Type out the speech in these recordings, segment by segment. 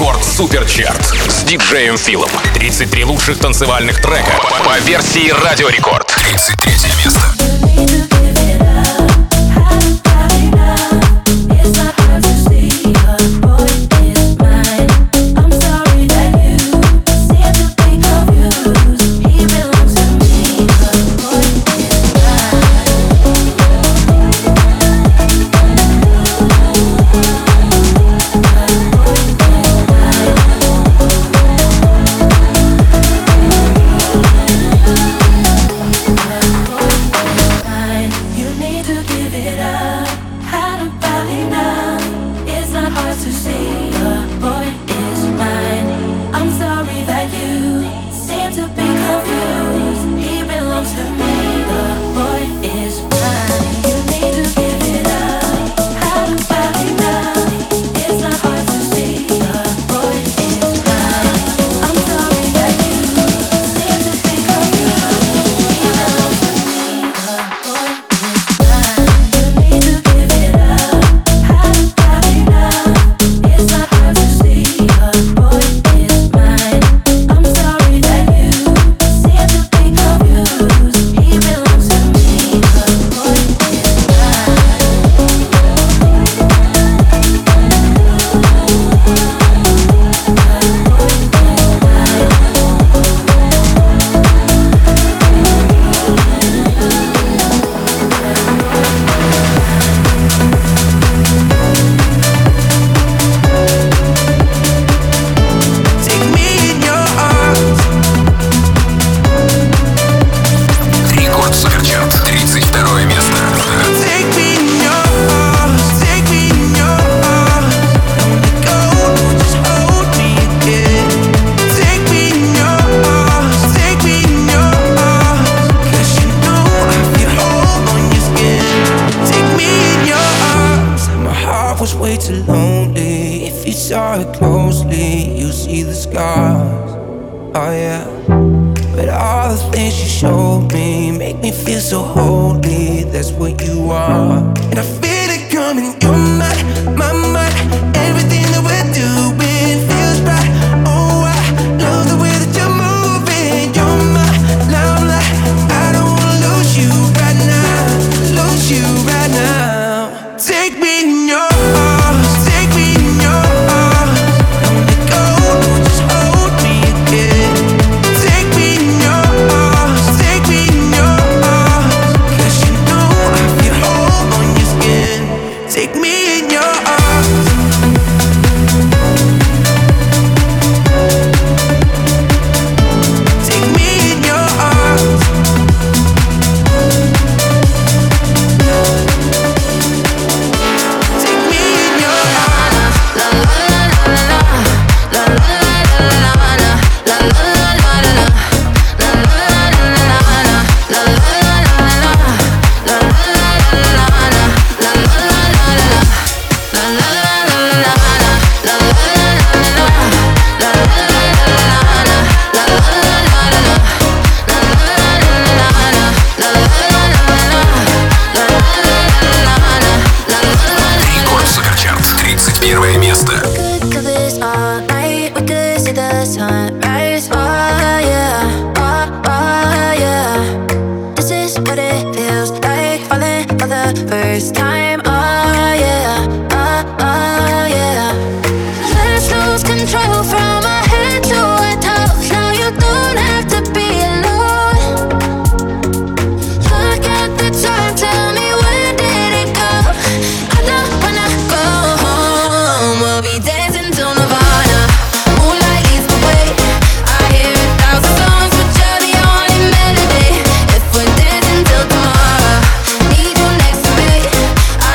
Рекорд Суперчарт с диджеем Филом. 33 лучших танцевальных трека по версии Радио Рекорд. 33 место.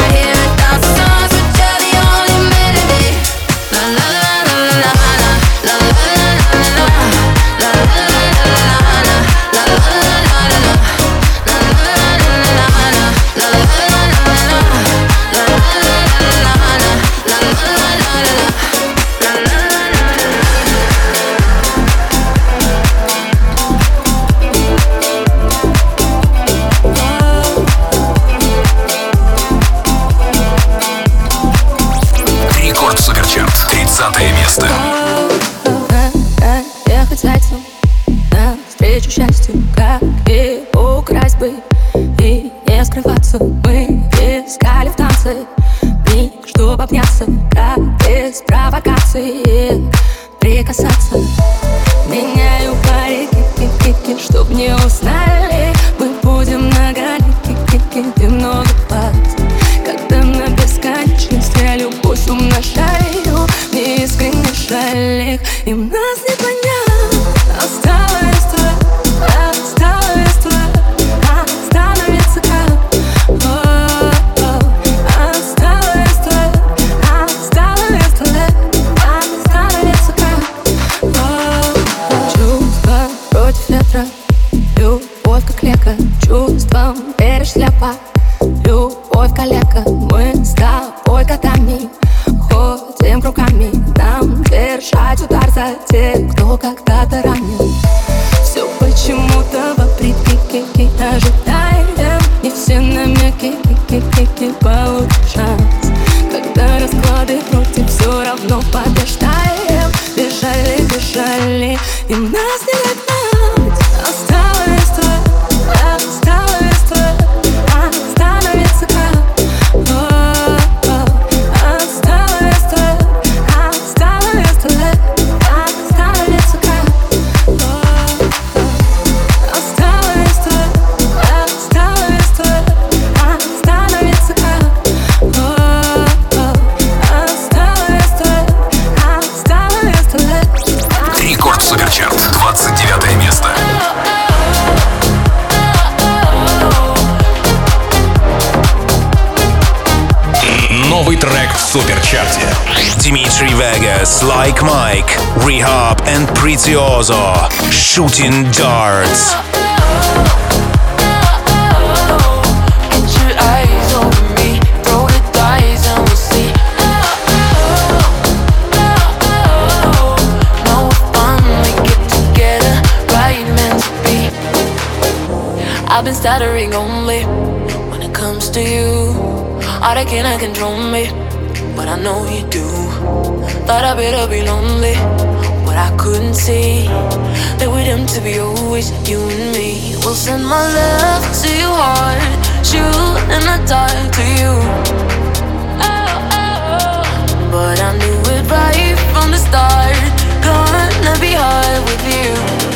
la эмоции прикасаться. Меняю пари, ки-ки-ки-ки, чтоб не узнали. Мы будем на галике, где много плат. Когда на бесконечность я любовь умножаю, мне искренне жаль их, им нас не понять. Осталось твое, осталось твое, остановится как. Осталось твое, осталось твое, остановится как. Чувства против ветра, любовь как лекарь, чувством веришь слепо. Любовь калека, мы с тобой котами ходим кругами. Нам держать удар за тех, кто когда-то ранен. Все почему-то вопреки ожидаем. Не все намеки получат шанс. Когда расклады против, все равно побеждаем. Бежали, бежали, им нас не догнать. Осталось твое, осталось твое, остановится как. Осталось твое, осталось твое, остановится как. Осталось твое, осталось твое, остановится как. Осталось твое, осталось твое. Рекорд Суперчарт, 29 место. Новый трек в Суперчарте. Dimitri Vegas, Like Mike, Rehab and Prezioso, Shooting Darts. I've been stuttering only when it comes to you. All that cannot control me, but I know you do. Thought I better be lonely, but I couldn't see that we're doomed to be always you and me. We'll send my love to your heart, shoot in the dark to you. But I knew it right from the start. Gonna be hard with you.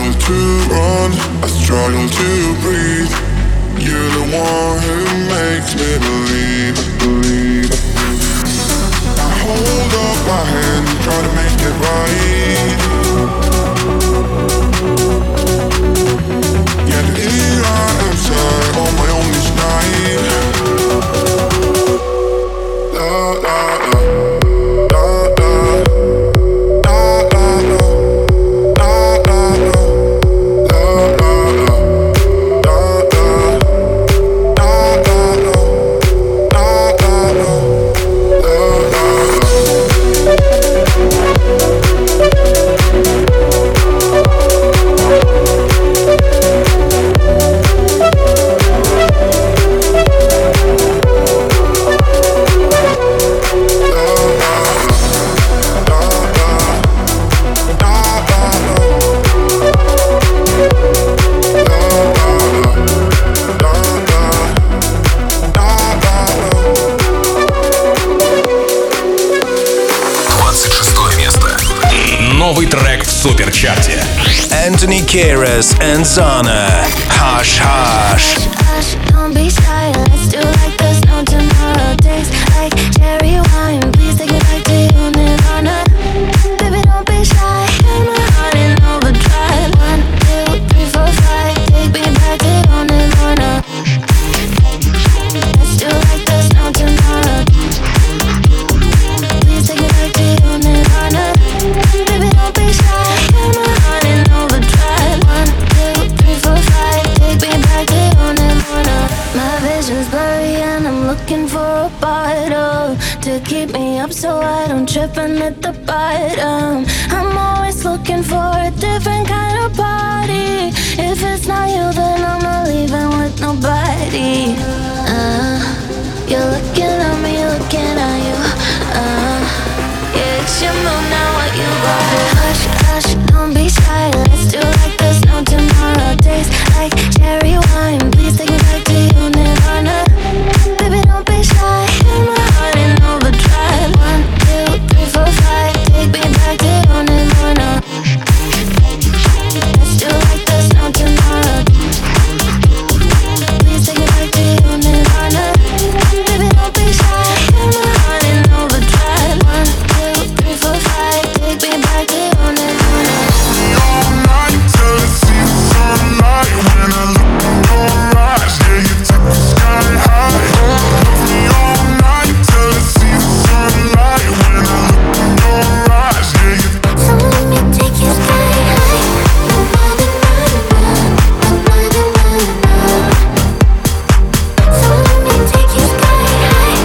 struggle to run, I struggle to breathe. You're the one who makes me believe. I hold up my hand, try to make it right. Yet here I am sad on my own this night. La la la. Новый трек в суперчарте. Anthony Kiedis and Zana. Hush Hush. Hush, don't be shy. Let's do like there's no tomorrow. Days like cherry wine. Please take me back to you, Nirvana. Baby, don't be shy. Feel my heart in overdrive. 1, 2, 3, 4, 5. Take me back to you, Nirvana. Let's do like there's no tomorrow. Please take me back to you, Nirvana. Baby, don't be shy. Feel my heart in overdrive. 1, 2, 3, 4, 5. Take me back to you, Nirvana. My vision's blurry and I'm looking for a bottle to keep me up so I don't trip and hit the bottom. I'm always looking for a different kind of party. If it's not you, then I'm not leaving with nobody. You're looking at me, looking at you. Yeah, it's your move now, what you got? Hush, hush, don't be shy. Let's do like there's no tomorrow. Days like cherry wine. Please take me back to you, Nirvana. Baby, don't be shy. Feel my heart in overdrive. 1, 2, 3, 4, 5. Take me back to you, Nirvana. Let's do like there's no tomorrow. Please take me back to you, Nirvana. Baby, don't be shy. Feel my heart in overdrive. 1, 2, 3, 4, 5. Take me back to you, Nirvana. All night till I see the sunlight. When I look in your eyes, yeah, you take me sky high. Love me all night till I see the sunlight. When I look in your eyes, yeah, you. So let me take you sky high. So let me take you sky high.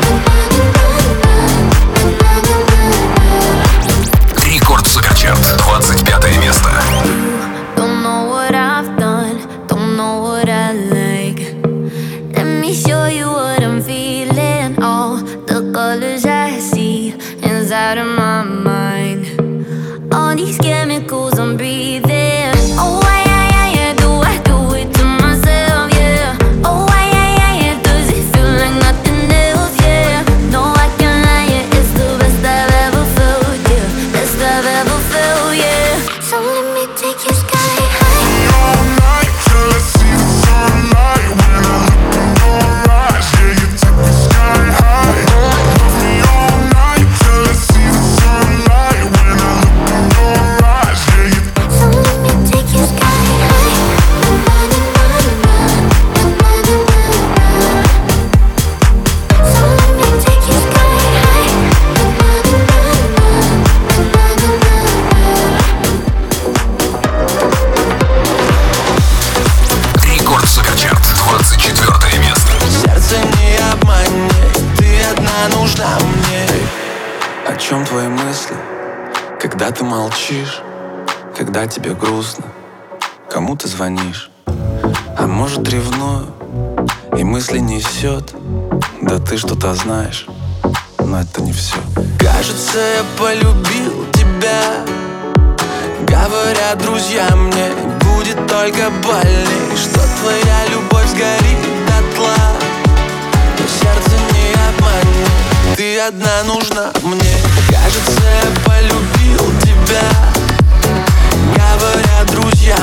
Рекорд суперчарт. 25 место. Don't know what I've done, don't know what I like. Let me show you what I'm feeling. All the colors I see inside of my mind. All these chemicals I'm breathing. Oh, yeah, do I do it to myself, yeah. Oh, yeah, does it feel like nothing else, yeah. No, I can't lie, yeah, it's the best I've ever felt, yeah. Best I've ever felt, yeah. So let me take you sky high. All night till I see the sunlight. When I look in your eyes, yeah, you take me sky high. Love me all night till I see the sunlight. When I look in your eyes, yeah, you. So let me take you sky high. So let me take you sky high. Рекорд суперчарт. 24 место. Сердце не обманет, ты одна нужна мне. О чем твои мысли, когда ты молчишь, когда тебе грустно, кому ты звонишь? А может ревную, и мысли несет. Да ты что-то знаешь, но это не все. Кажется, я полюбил тебя. Говорят друзья мне, будет только больней, что твоя любовь сгорит дотла. Но сердце не обманет, ты одна нужна мне. Кажется, я полюбил тебя. Говорят друзья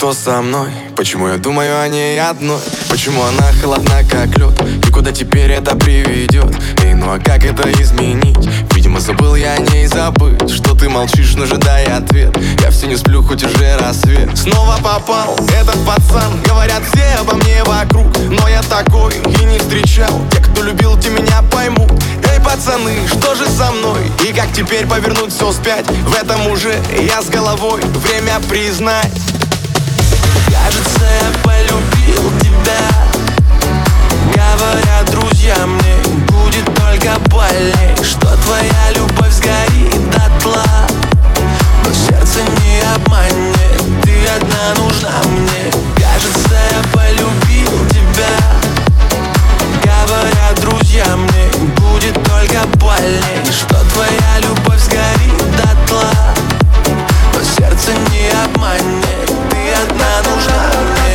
что со мной? Почему я думаю о ней одной? Почему она холодна, как лед? И куда теперь это приведет? Эй, ну а как это изменить? Видимо, забыл я о ней забыть. Что ты молчишь, но ожидая ответ? Я все не сплю, хоть уже рассвет. Снова попал этот пацан. Говорят все обо мне вокруг, но я такой и не встречал. Те, кто любил, те меня поймут. Эй, пацаны, что же со мной? И как теперь повернуть все вспять? В этом уже я с головой. Время признать. Кажется, я полюбил тебя. Говорят друзья мне, будет только больней, что твоя любовь сгорит дотла. Но сердце не обманет, ты одна нужна мне. Кажется, я полюбил тебя. Говорят друзья мне, будет только больней, что твоя любовь сгорит дотла. Но сердце не обманет, ты одна нужна мне.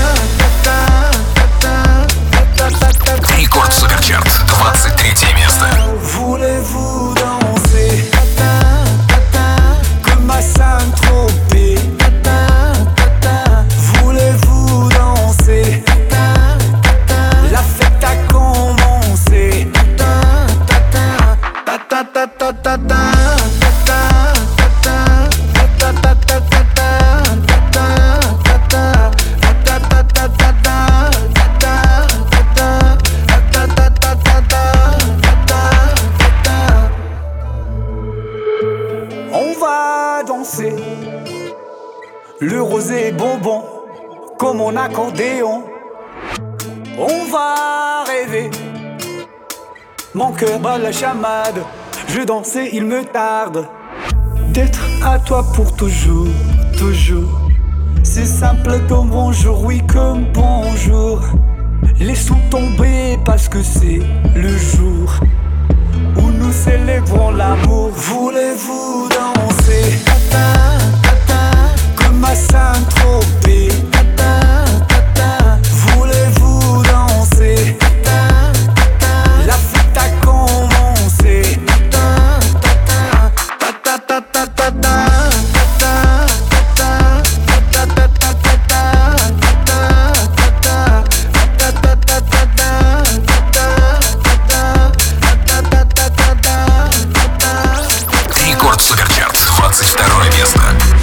Рекорд Суперчарт, 23 место. Voulez-vous danser comme à Saint-Tropez? Voulez-vous danser? La fête a commencé. On va danser le rosé bonbon comme mon accordéon. On va rêver, mon cœur bat la chamade. Je danse et il me tarde d'être à toi pour toujours, toujours. C'est simple comme bonjour, oui comme bonjour. Laissons tomber parce que c'est le jour où nous célébrons l'amour. Voulez-vous danser comme à Saint-Tropez? Voulez-vous danser? La fête a commencé. Рекорд Суперчарт, 22 место.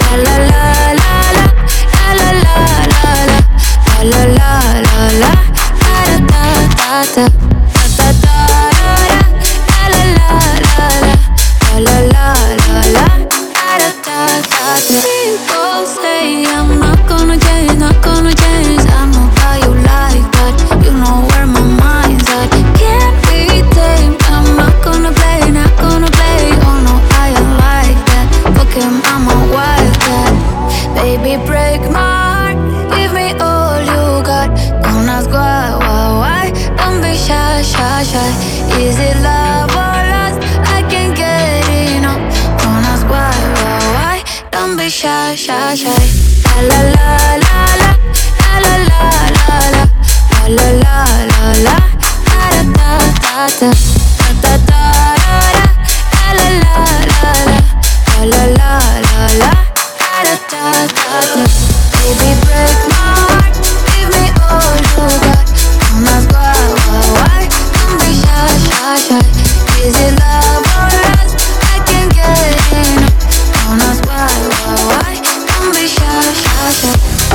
People say I'm not gonna change, not gonna change. I know how you like that, you know where my mind's at. Can't be tamed, I'm not gonna play, not gonna play. Oh no, I am like that, fuck him, I'm a wildcat. Baby, break my heart, give me all you got. Don't ask why, don't be shy, shy, shy. Is it love or lust? I can't get enough. Don't ask why, don't be shy, shy, shy. La la la la la la la la la la la la la la da da da da da da da la la la la la la la la da da da. Baby, break my heart, give me all you got. Don't ask why, don't be shy, shy, shy. Is it love or lust? I can't get enough. Don't ask why, don't be shy, shy, shy.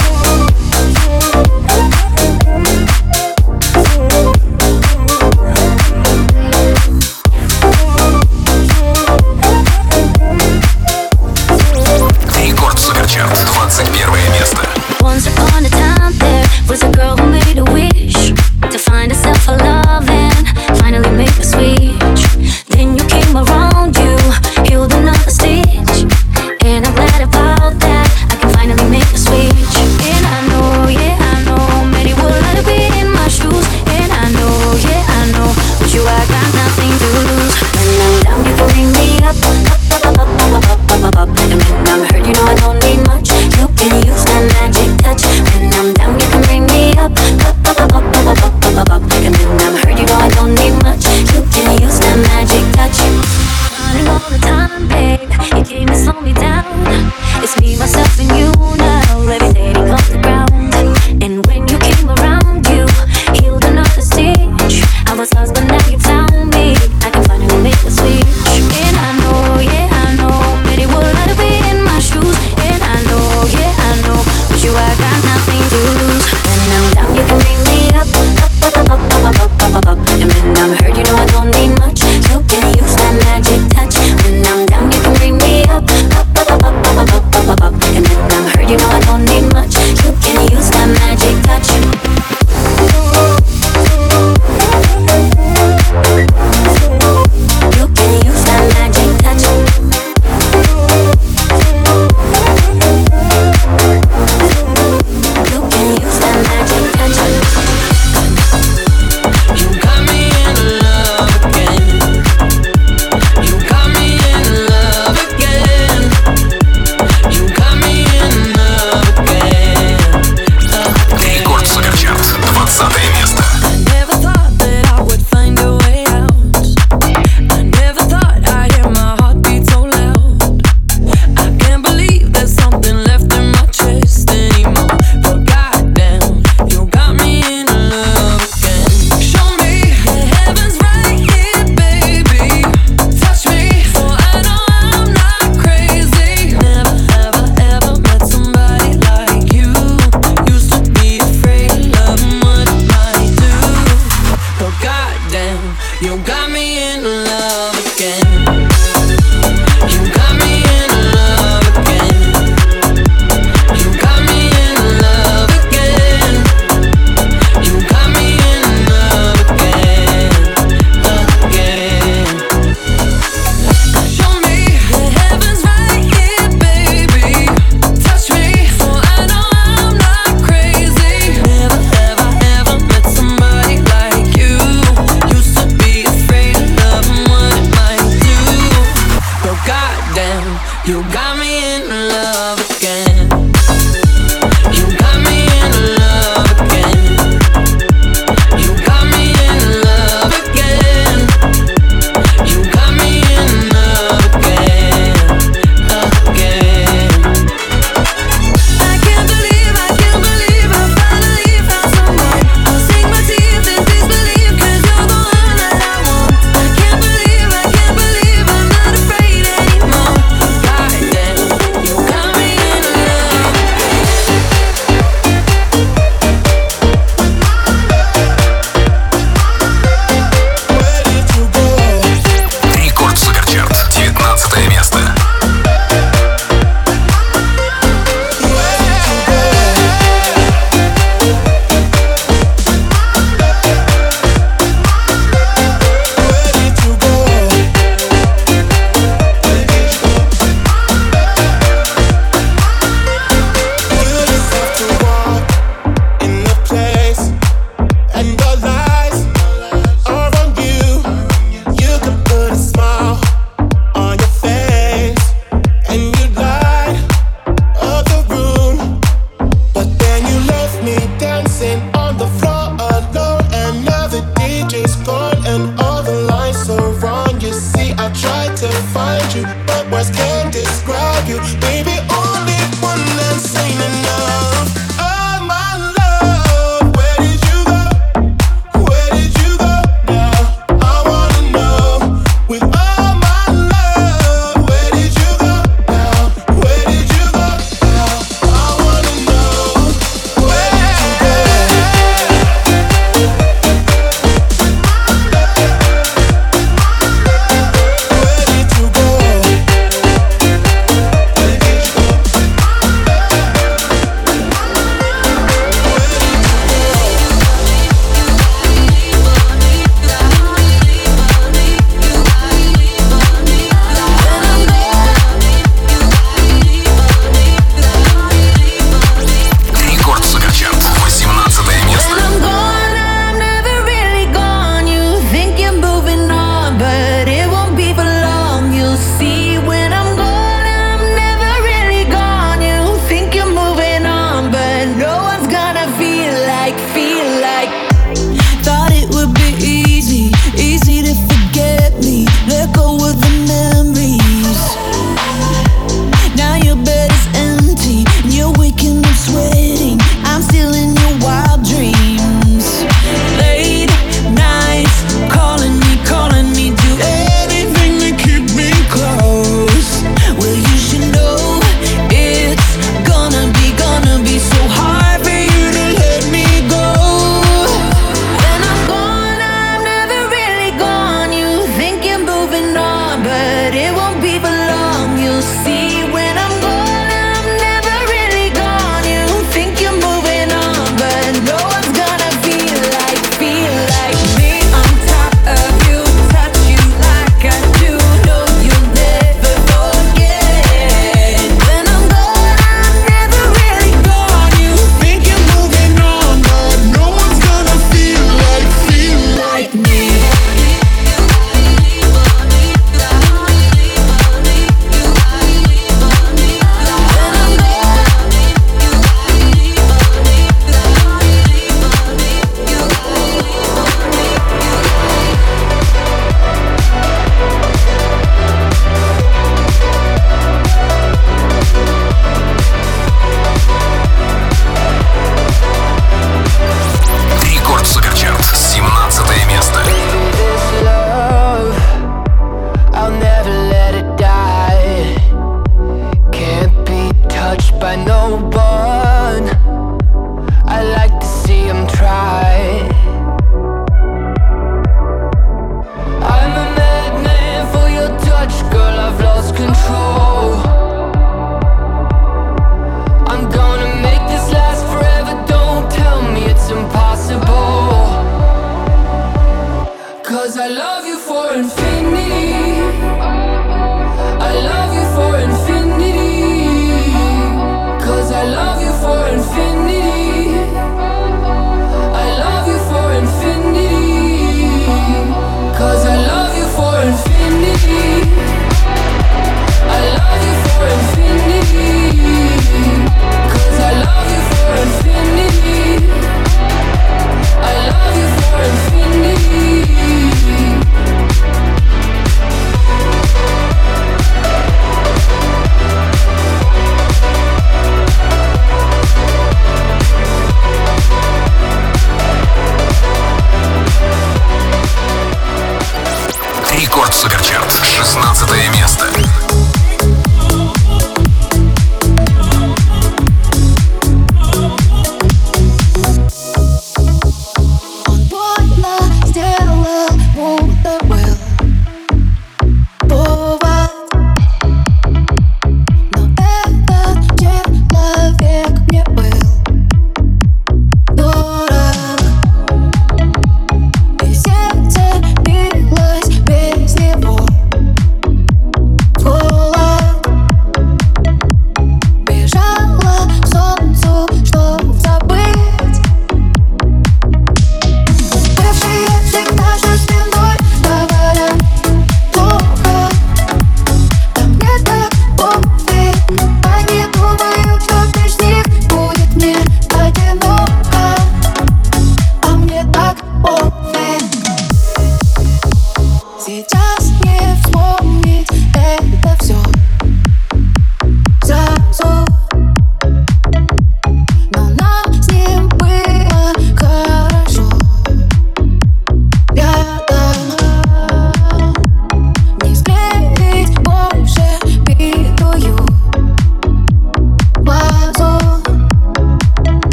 Рекорд Суперчарт, 21 место. Once upon a time there was a girl who made a wish to find herself a love and finally make a switch. Then you came around, you healed another stitch, and I'm glad about that. I can finally make a switch. And I know, yeah, I know, many would like to be in my shoes. And I know, yeah, I know, with you I got nothing to lose. When I'm down, you can bring me up, up, up, up, up, up, up, up, up, up. And when I'm hurt, you know I don't need much. You can use that magic touch. When I'm down, you can bring me up, up.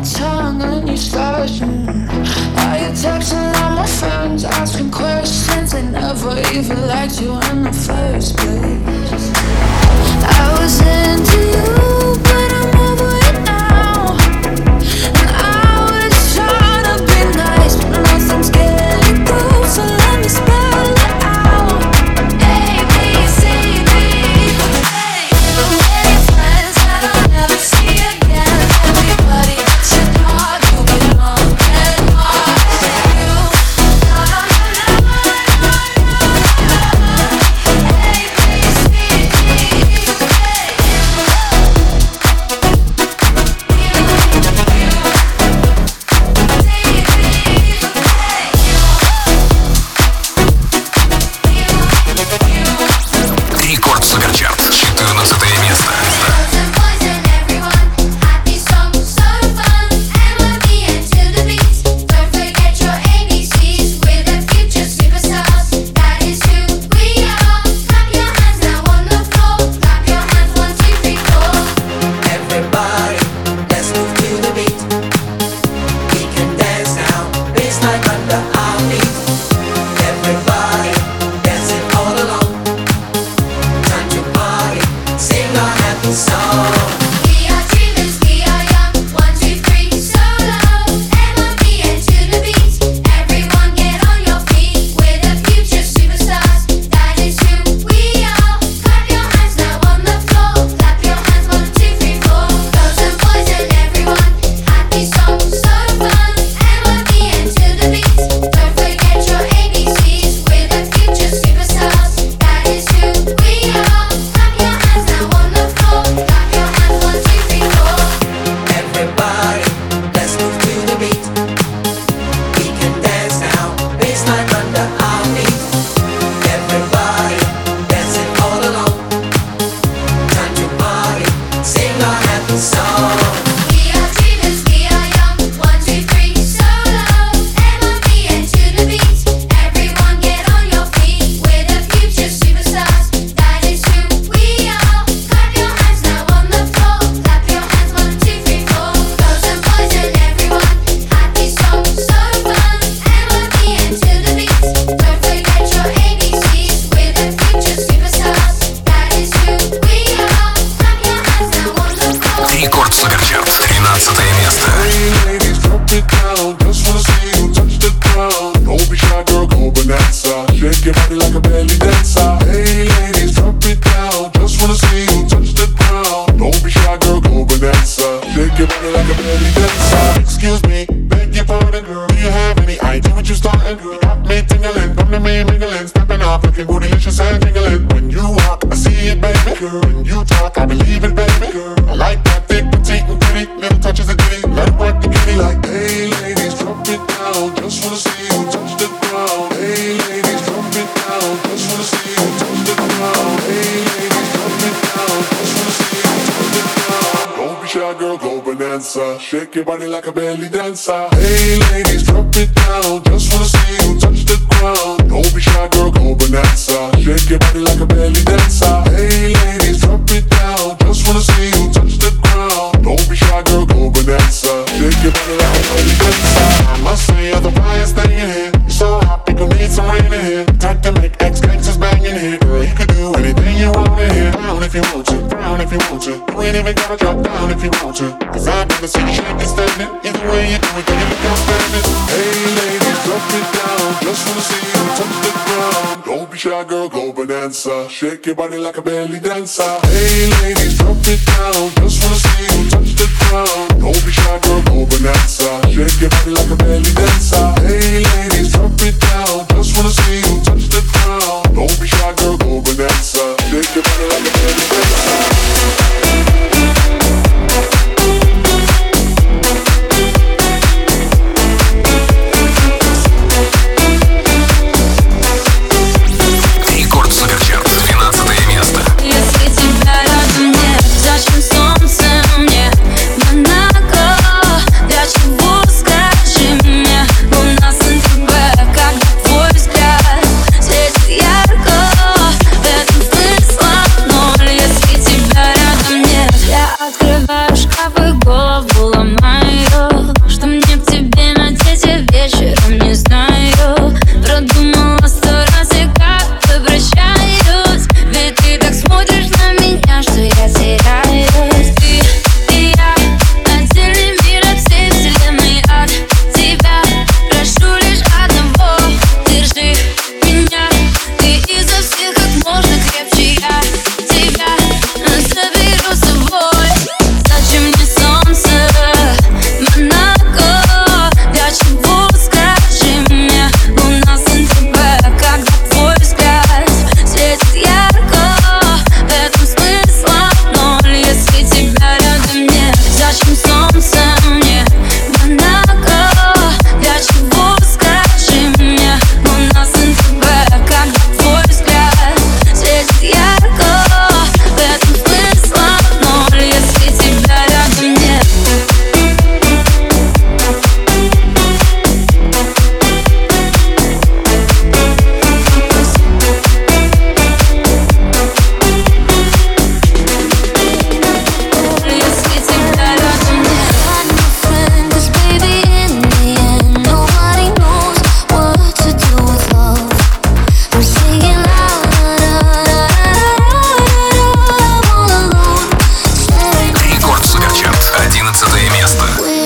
tongue and you start. Are you texting all my friends, asking questions? They never even liked you in the first place. I was into you, but I'm over it now. And I was trying to be nice, but nothing's getting through. So let me spell it out. A, B, C, D. The way friends that I'll never see again. Everybody that you know, you belong and lost in you. A, B, C, D. Рекорд Суперчарт, 14 место. Рекорд Суперчарт, 13 место. Shake your body like a belly dancer. Hey ladies, drop it down. Just wanna see you touch the ground. Don't be shy, girl, go bonanza. Shake your body like a belly dancer. Excuse me, beg your pardon, girl. Do you have any idea what you're starting? You got me tingling, come to me mingling, stepping off, looking bootylicious and tingling. When you walk, I see it, baby. Girl, when you talk, I believe it, baby. Girl, I like that thick, petite, and pretty. Little touches of ditty, let it work the kitty. Like, hey ladies, drop it down. Just wanna see you touch the ground. Hey ladies, drop it down. Just wanna see you touch the ground. Hey ladies, drop it down. Just wanna see you touch the ground. Don't be shy, girl, go bonanza. Shake your body like a belly dancer. Hey ladies, drop it down. Just wanna see you touch the ground. Don't be shy, girl, go bonanza. Shake your body like a belly dancer. Hey ladies, drop it down. Just wanna see you touch the ground. Don't be shy, girl, go bonanza. Shake your body like a belly dancer. I must say you're the brightest thing in here. You're so hot, people need some rain in here. Time to make ex-gangsters bang in here. Girl, you could do anything you want in here. Down if you want to, down if you want to. You ain't even gotta drop down if you want to. Cause I've never seen you shake and stand it. Either way you do it, girl, you look outstanding. Hey ladies, drop it down. Just wanna see you touch the ground. Don't be shy, girl, go bonanza. Shake your body like a belly dancer. Hey ladies, drop it down. Just wanna see you touch the ground. Don't be shy, girl, go bonanza. Shake your body like a belly dancer. Hey ladies, drop it down. Just wanna see you touch the ground. Don't be shy, girl, go bonanza. Shake your body like a belly dancer. Рекорд Суперчарт, 12 место. Если тебя рядом нет, зачем солнце мне? Монако, для чего, скажи мне?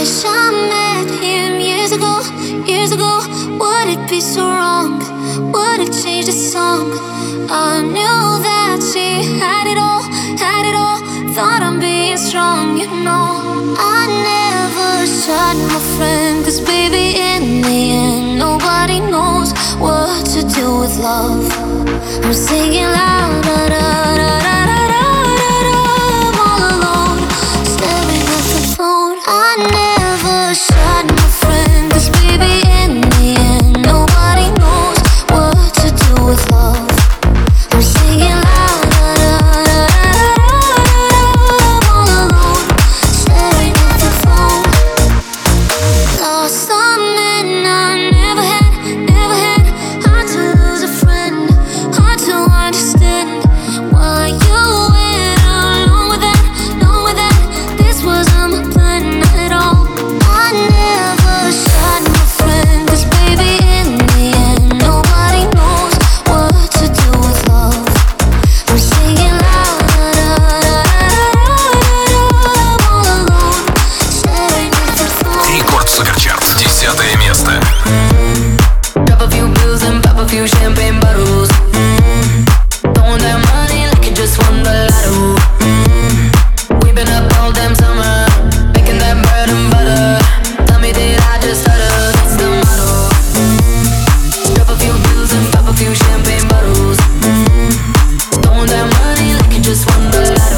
wish I met him years ago, years ago. Would it be so wrong? Would it change the song? I knew that she had it all, had it all. Thought I'm being strong, you know. I never shot my friend, 'cause baby, in the end, nobody knows what to do with love. I'm singing loud, da da da da da da da da. I'm all alone, staring at the phone. I never shot my friend, 'cause baby, in the end, nobody knows what to do with love. I'm singing loud, da da da da da da da. I'm all alone, staring at the phone. Lost some men I never had, never had. Hard to lose a friend, hard to understand why you went along with that, along with that. This wasn't my plan at all. I never shot my friend, 'cause baby, in the end, nobody knows what to do with love. I'm singing loud, da da da da da da. I'm all alone, staring at the phone. Рекорд Суперчарт, 10 место. Drop a few pills and pop a few champagne bottles. Throwing that money like you just won the lotto. We've been up all damn summer, making that bread and butter. Tell me, did I just stutter? That's the motto. Drop a few pills and pop a few champagne bottles. Throwing that money like you just won the lotto.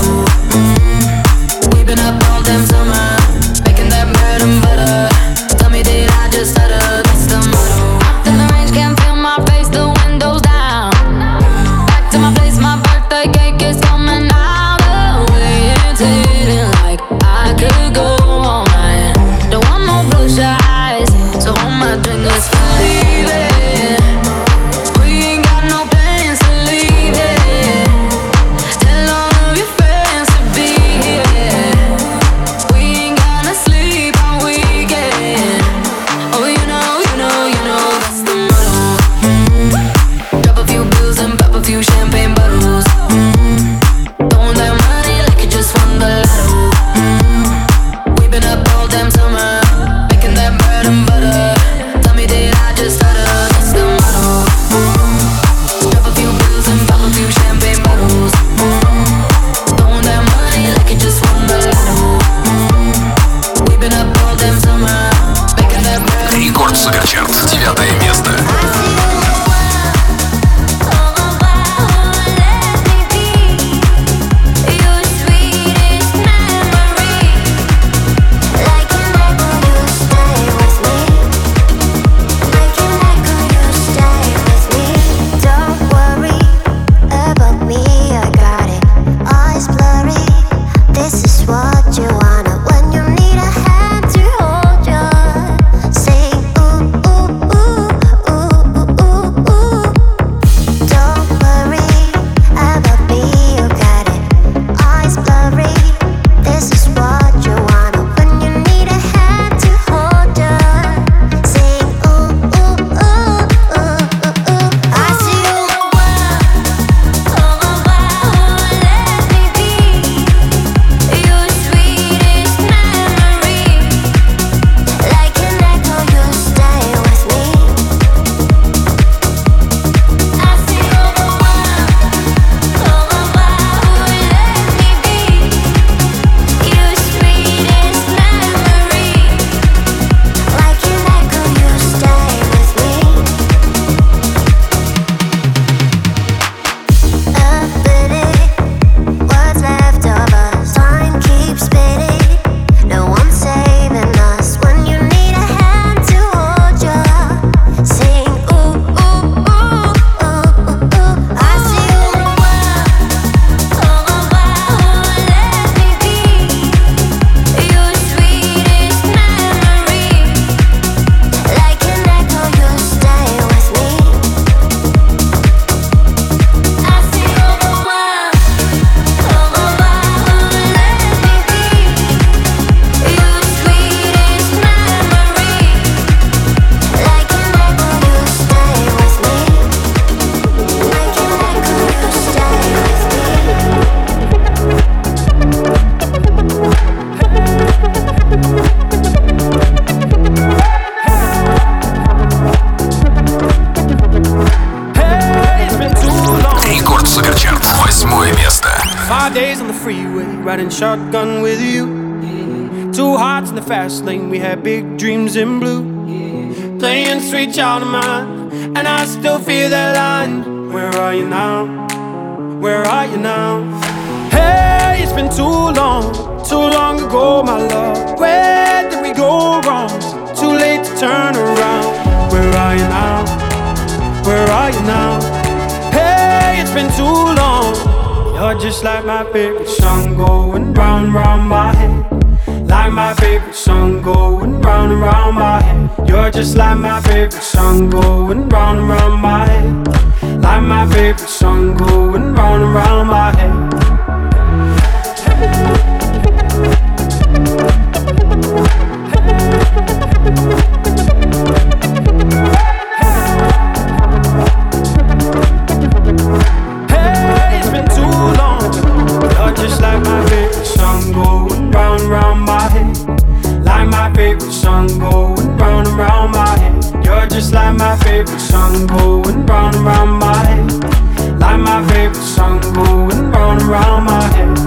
We've been up all damn summer, making that bread and butter. Tell me, did I just riding shotgun with you. Two hearts in the fast lane, we had big dreams in blue. Playing sweet child of mine, and I still feel that line. Where are you now? Where are you now? Hey, it's been too long ago, my love. Where did we go wrong? Too late to turn around. Where are you now? Where are you now? Hey, it's been too long. You're just like my favorite song going round and round my head. Like my favorite song going round and round my head. You're just like my favorite song going round and round my head. Like my favorite song going round and round my head. Hey, it's been too long. You're just like my favorite song going round and round my head. Like my favorite song going round and round my head. You're just like my favorite song going round and round my head. Like my favorite song going round and round my head.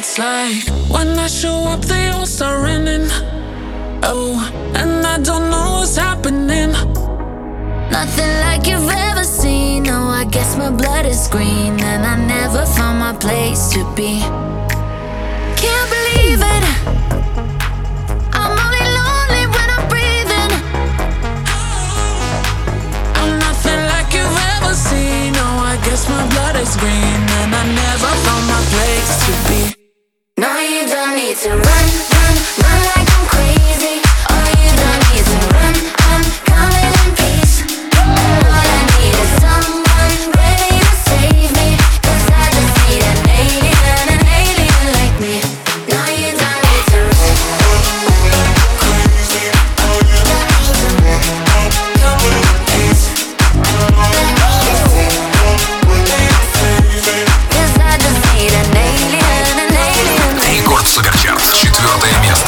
it's like when I show up, they all start running. Oh, and I don't know what's happening. Nothing like you've ever seen. No, I guess my blood is green, and I never found my place to be. Can't believe it. I'm only lonely when I'm breathing. I'm nothing like you've ever seen. No, I guess my blood is green, and I never found my place to be. No, you don't need to run, run, run like I'm crazy. Oh, you don't need to run, I'm coming in peace. All I need is someone ready to save me, 'cause I just need an alien like me. No, you don't need to run. Рекорд Суперчарт, 4 место.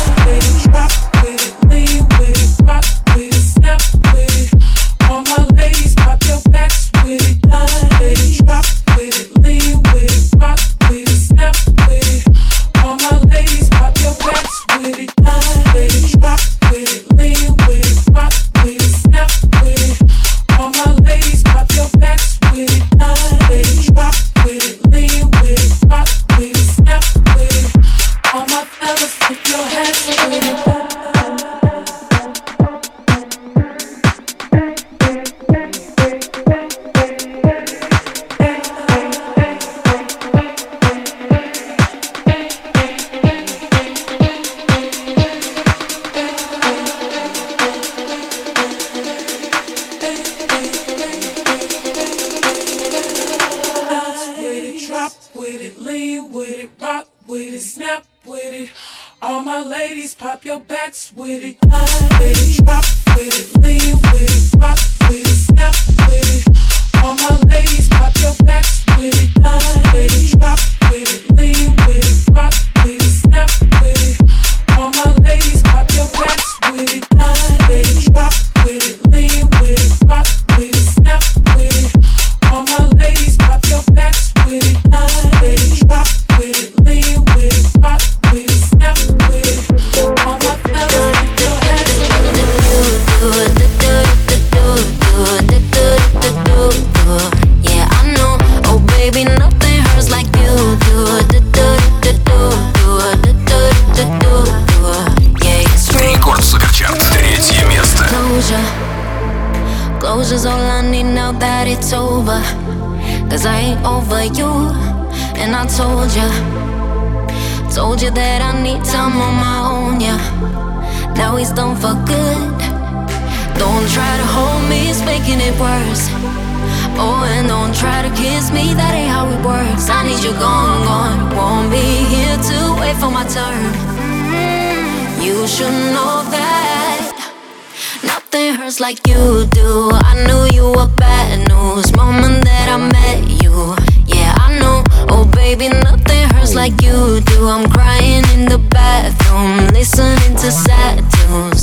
Closure's all I need now that it's over. 'Cause I ain't over you. And I told you that I need time on my own, yeah. Now he's done for good. Don't try to hold me, it's making it worse. Oh, and don't try to kiss me, that ain't how it works. I need you gone, gone. Won't be here to wait for my turn. You should know that nothing hurts like you do. I knew you were bad news moment that I met you. Yeah, I know. Oh, baby, nothing hurts like you do. I'm crying in the bathroom, listening to sad tunes.